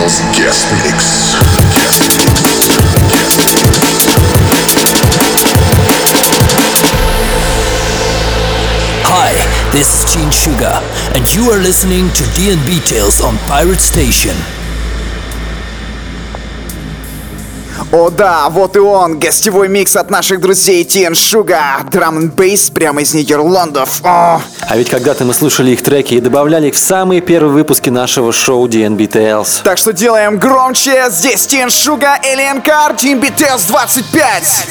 Details Guest Mix. Hi, this is Gene Sugar, and you are listening to D&B Tales on Pirate Station. О да, вот и он, гостевой микс от наших друзей TN Sugar, драм н бейс прямо из Нидерландов. О! А ведь когда-то мы слушали их треки и добавляли их в самые первые выпуски нашего шоу D&B Tales. Так что делаем громче, здесь TN Sugar, Alien Car, D&B Tales 25.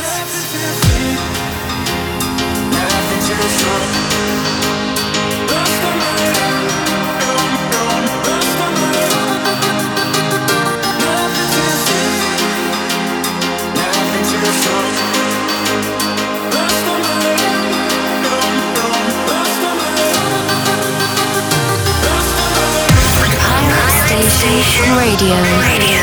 Radio.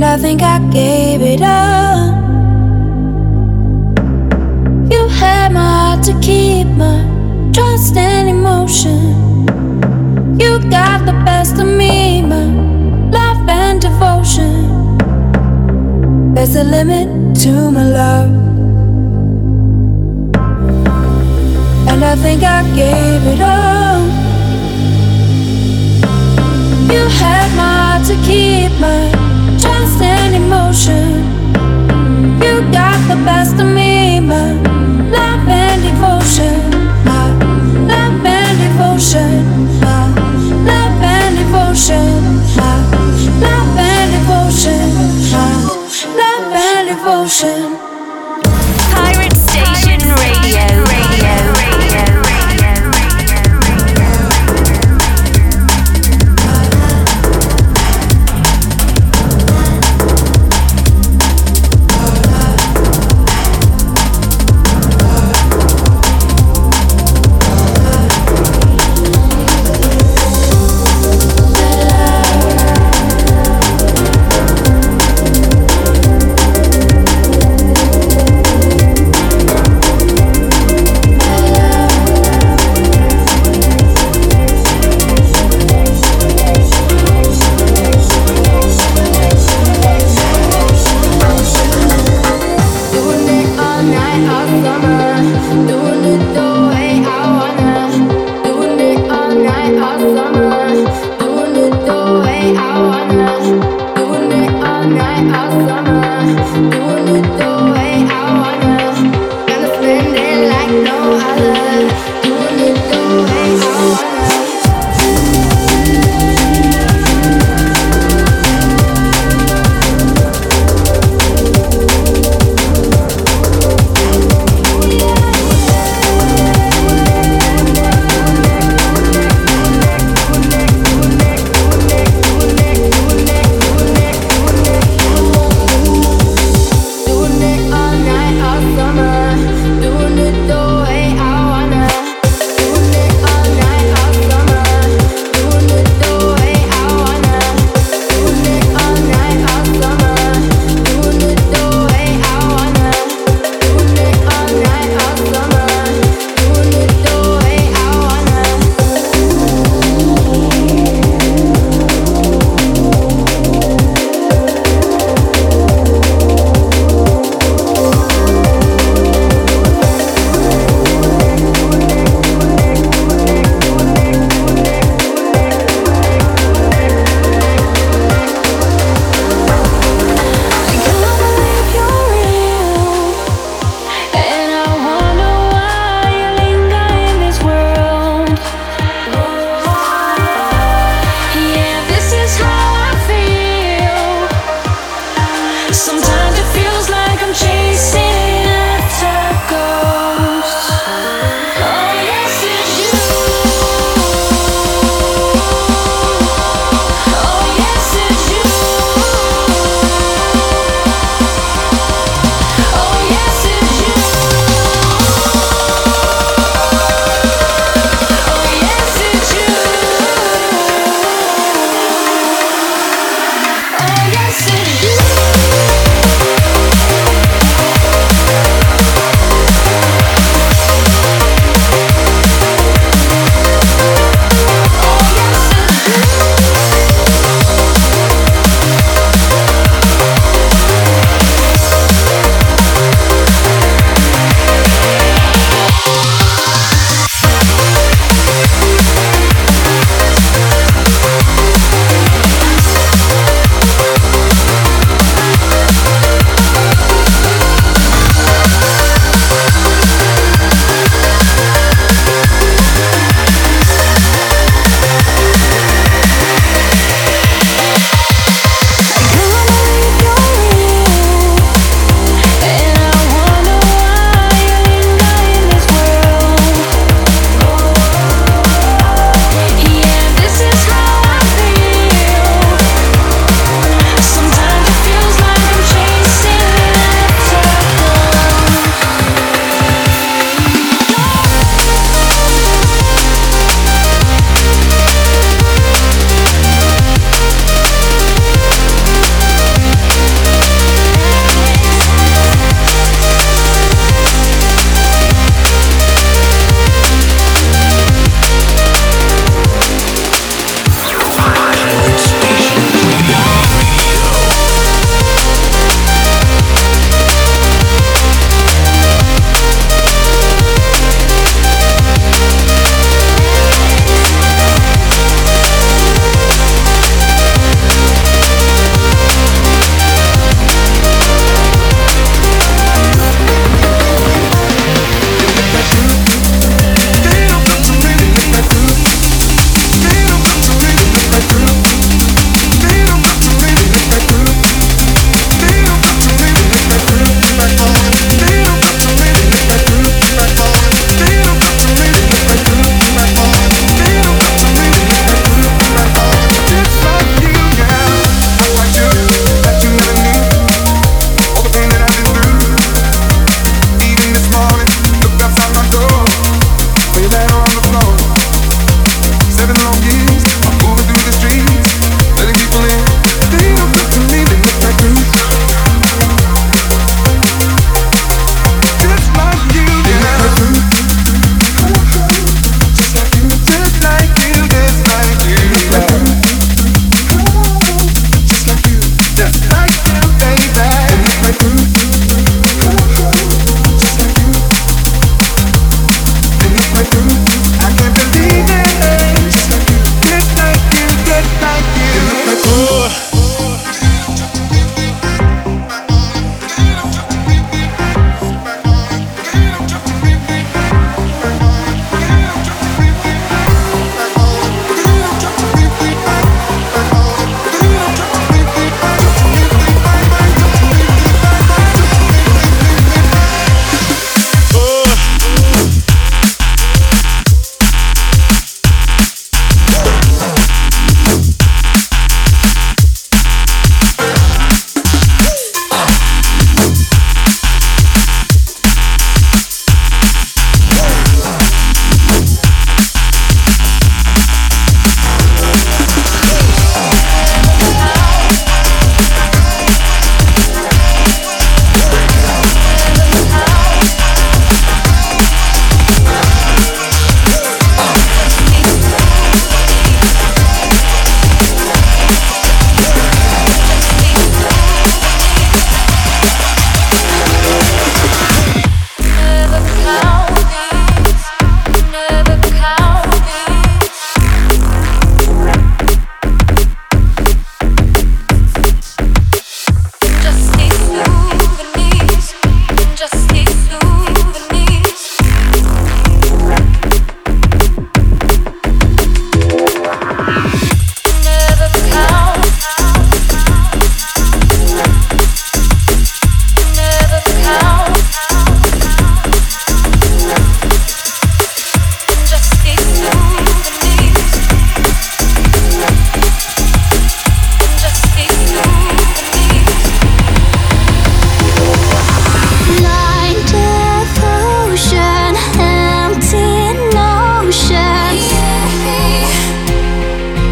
I think I gave it up. You had my heart to keep, my trust and emotion. You got the best of me, my love and devotion. There's a limit to my love, and I think I gave it all. You had my heart to keep, my trust and emotion. You got the best of me, my love and devotion. My love and devotion. My love and devotion. My love and devotion. My love and devotion. Pirate Station Radio.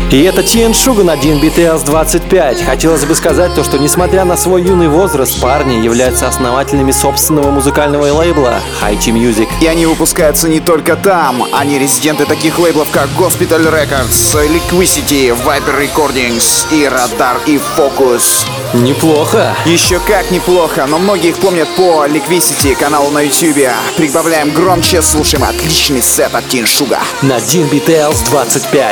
И это TN Sugar на DNB Tales 25. Хотелось бы сказать то, что несмотря на свой юный возраст, парни являются основателями собственного музыкального лейбла High Tea Music. И они выпускаются не только там. Они резиденты таких лейблов, как Gospital Records, Liquidity, Viper Recordings и Radar и Focus. Неплохо. Еще как неплохо, но многие их помнят по Liquidity каналу на YouTube. Прибавляем громче, слушаем отличный сет от TN Sugar. На DNB Tales 25.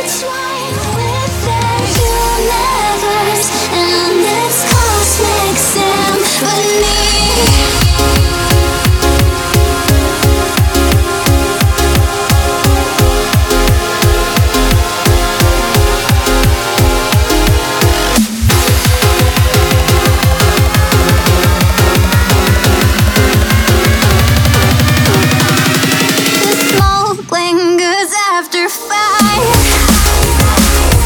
Lingers after 5.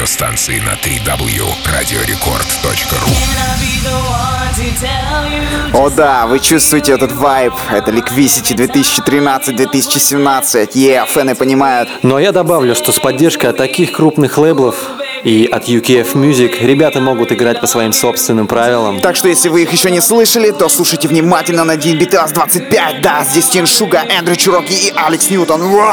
радиостанции на www.radiorecord.ru. О да, вы чувствуете этот вайб. Это Liquicity 2013-2017. Фэны понимают. Но я добавлю, что с поддержкой от таких крупных лейблов и от UKF Music ребята могут играть по своим собственным правилам. Так что если вы их еще не слышали, то слушайте внимательно на DNB Tales 25. Да, здесь Тин Шуга, Эндрю Чироки и Алекс Ньютон. Ура!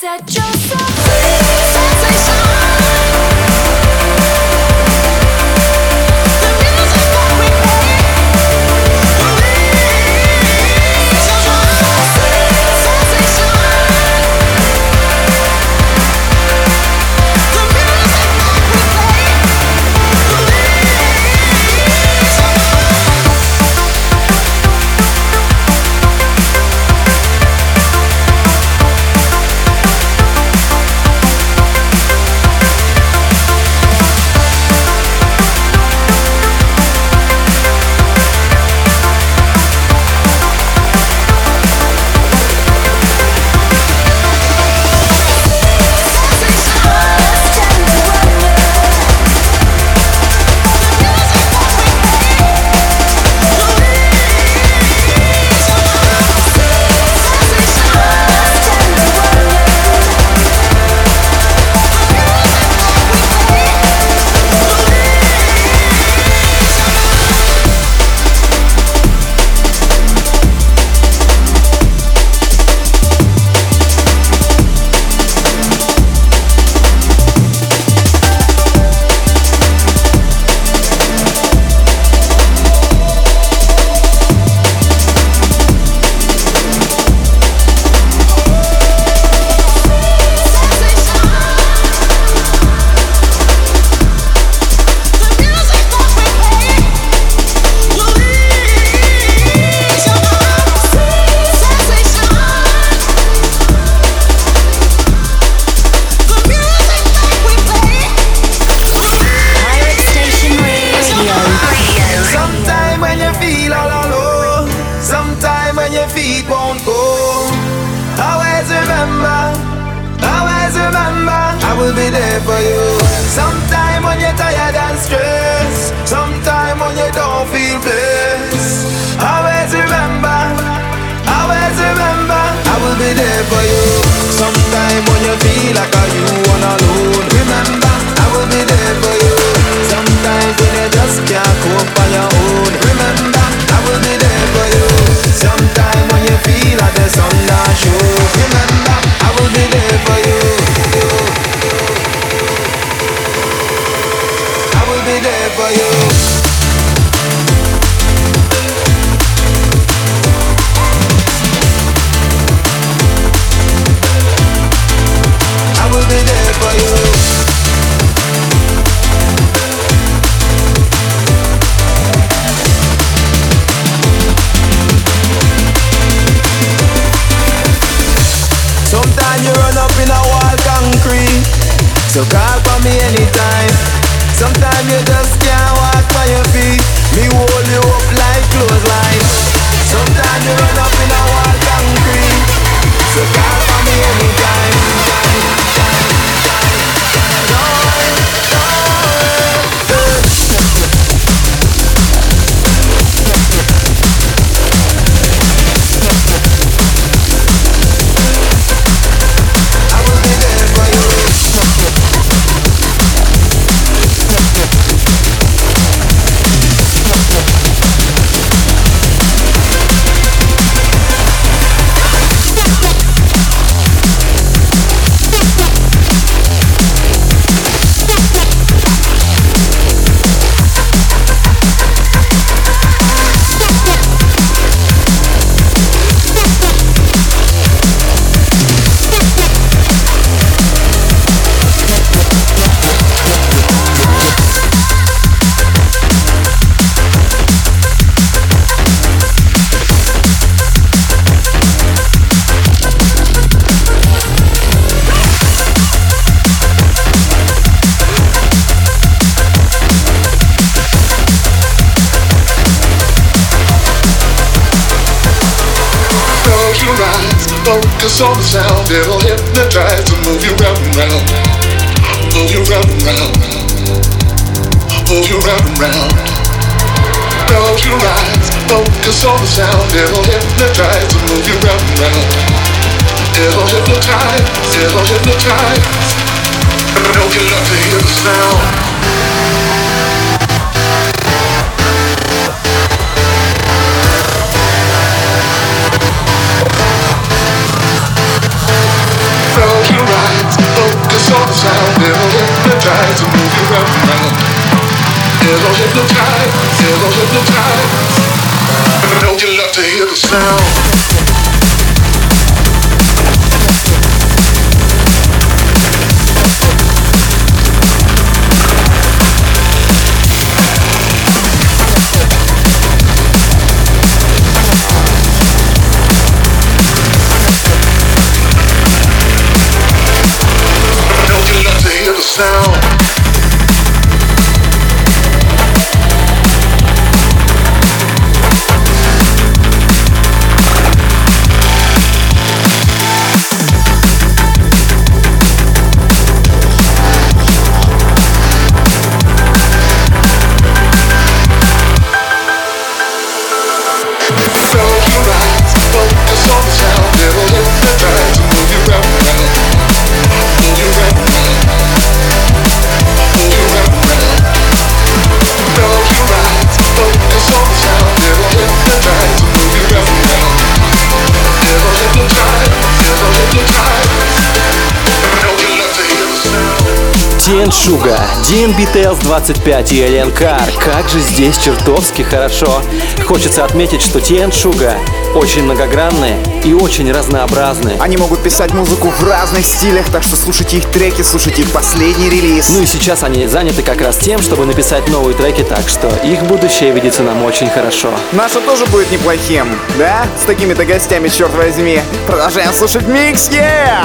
set yourself free. Sensation. The music that we play. So call for me anytime. Sometimes you just can't walk by your feet. Me hold you up like clothesline. Sometimes you run up in a wall concrete. So call for me anytime. Focus on the sound, it'll hypnotize to move you round and round. Move you round and round. Move you round and round. Close your eyes, focus on the sound, it'll hypnotize to move you round and round. It'll hypnotize, it'll hypnotize. Don't get up to hear the sound. Close your sound, it'll hypnotize and move you round and round. It'll hypnotize, it'll hypnotize. Don't you love to hear the sound? Sound. Тиен Шуга, DNB Tales 25 и Alien Car. Как же здесь чертовски хорошо. Хочется отметить, что Тиен Шуга очень многогранные и очень разнообразные. Они могут писать музыку в разных стилях, так что слушайте их треки, слушайте их последний релиз. Ну и сейчас они заняты как раз тем, чтобы написать новые треки, так что их будущее видится нам очень хорошо. Наше тоже будет неплохим, да? С такими-то гостями, черт возьми. Продолжаем слушать микс, yeah!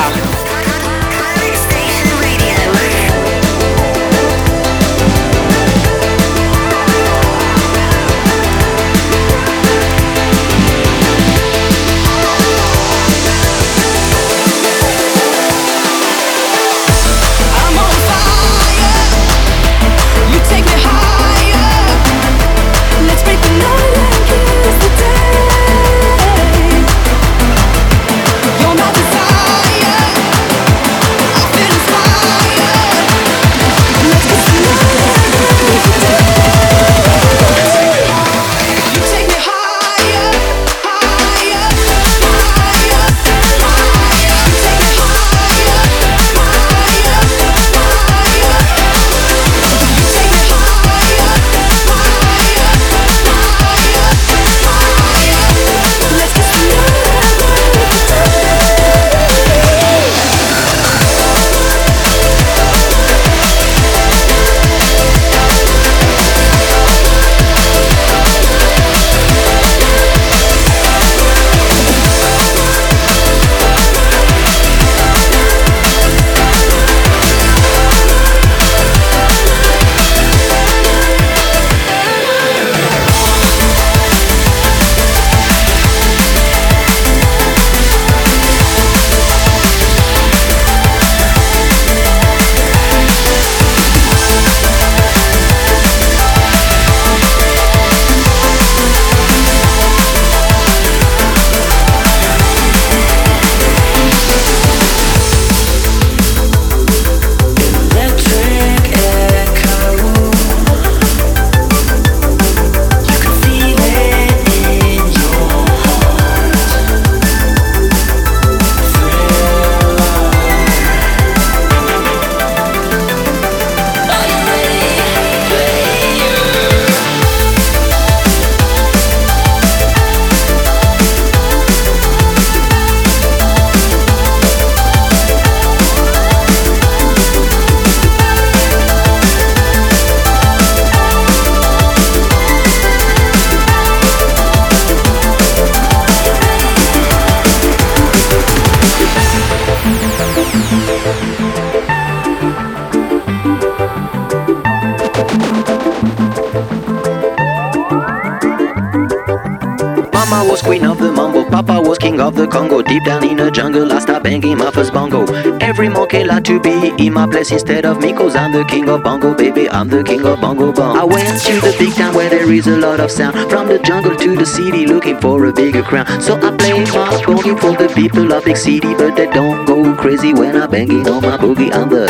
Mama was queen of the mambo, Papa was king of the Congo. Deep down in the jungle, I started banging my first bongo. Every monkey like to be in my place instead of me, 'cause I'm the king of bongo, baby, I'm the king of bongo bong. I went to the big town where there is a lot of sound, from the jungle to the city looking for a bigger crown. So I play my boogie for the people of big city, but they don't go crazy when I'm banging on my boogie. I'm the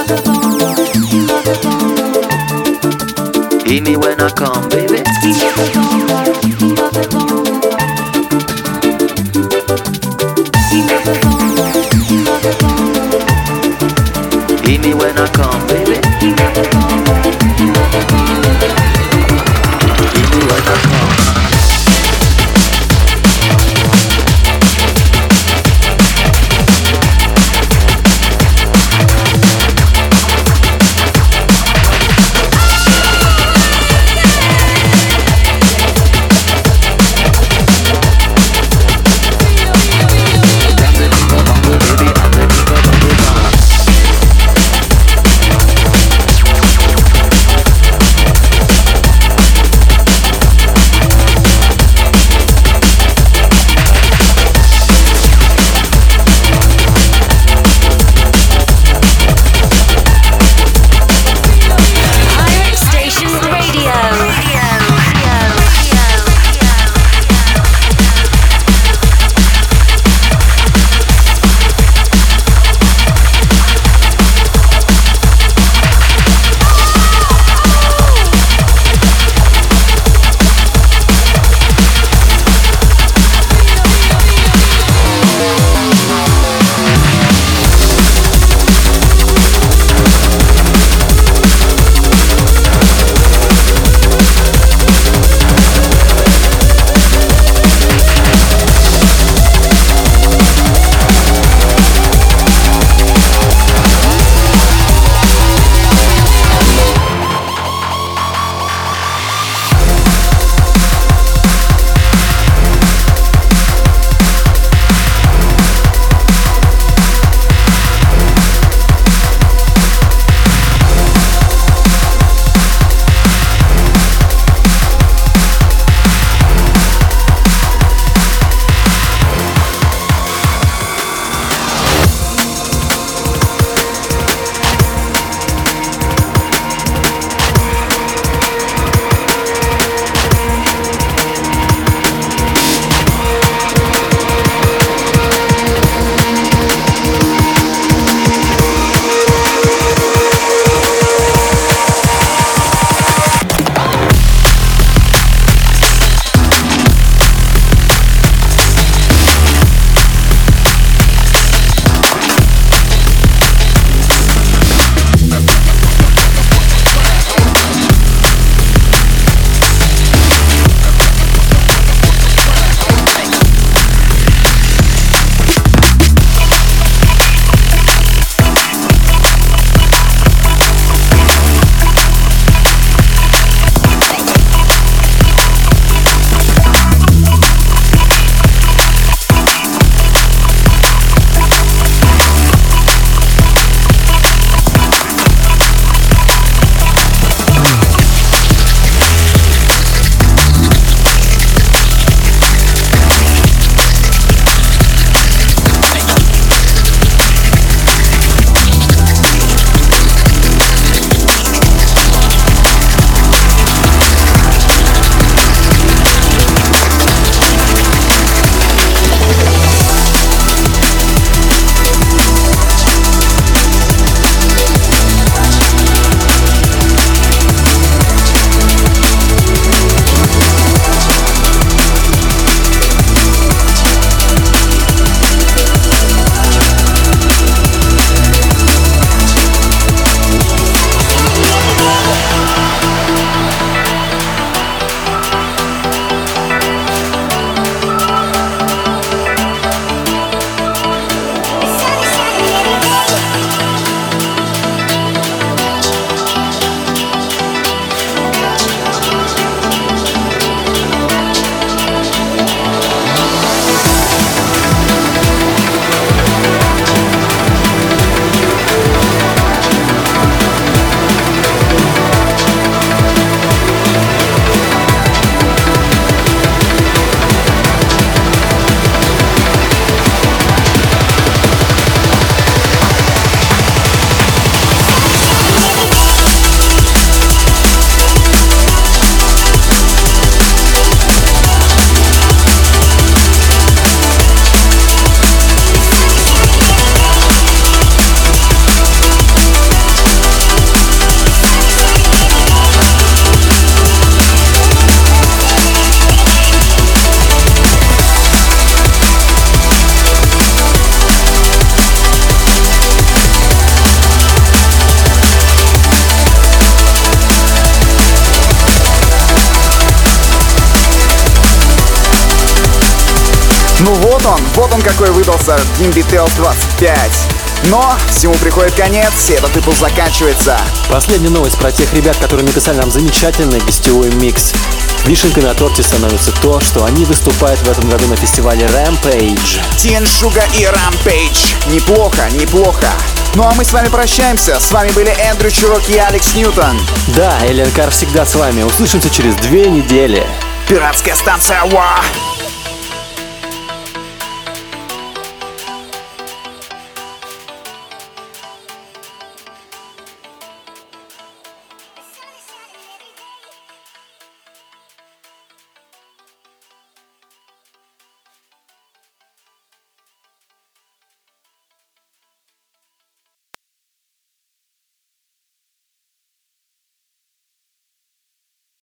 hear me when I come, baby. See me when I come, baby. See me when I come. Вот он какой выдался, DnB Tales 25. Но всему приходит конец, и этот выпуск заканчивается. Последняя новость про тех ребят, которые написали нам замечательный гостевой микс. Вишенкой на торте становится то, что они выступают в этом году на фестивале Rampage. Тин Шуга и Rampage. Неплохо, неплохо. Ну а мы с вами прощаемся. С вами были Эндрю Чурок и Алекс Ньютон. Да, Элен Кар всегда с вами. Услышимся через 2 недели. Пиратская станция ВА.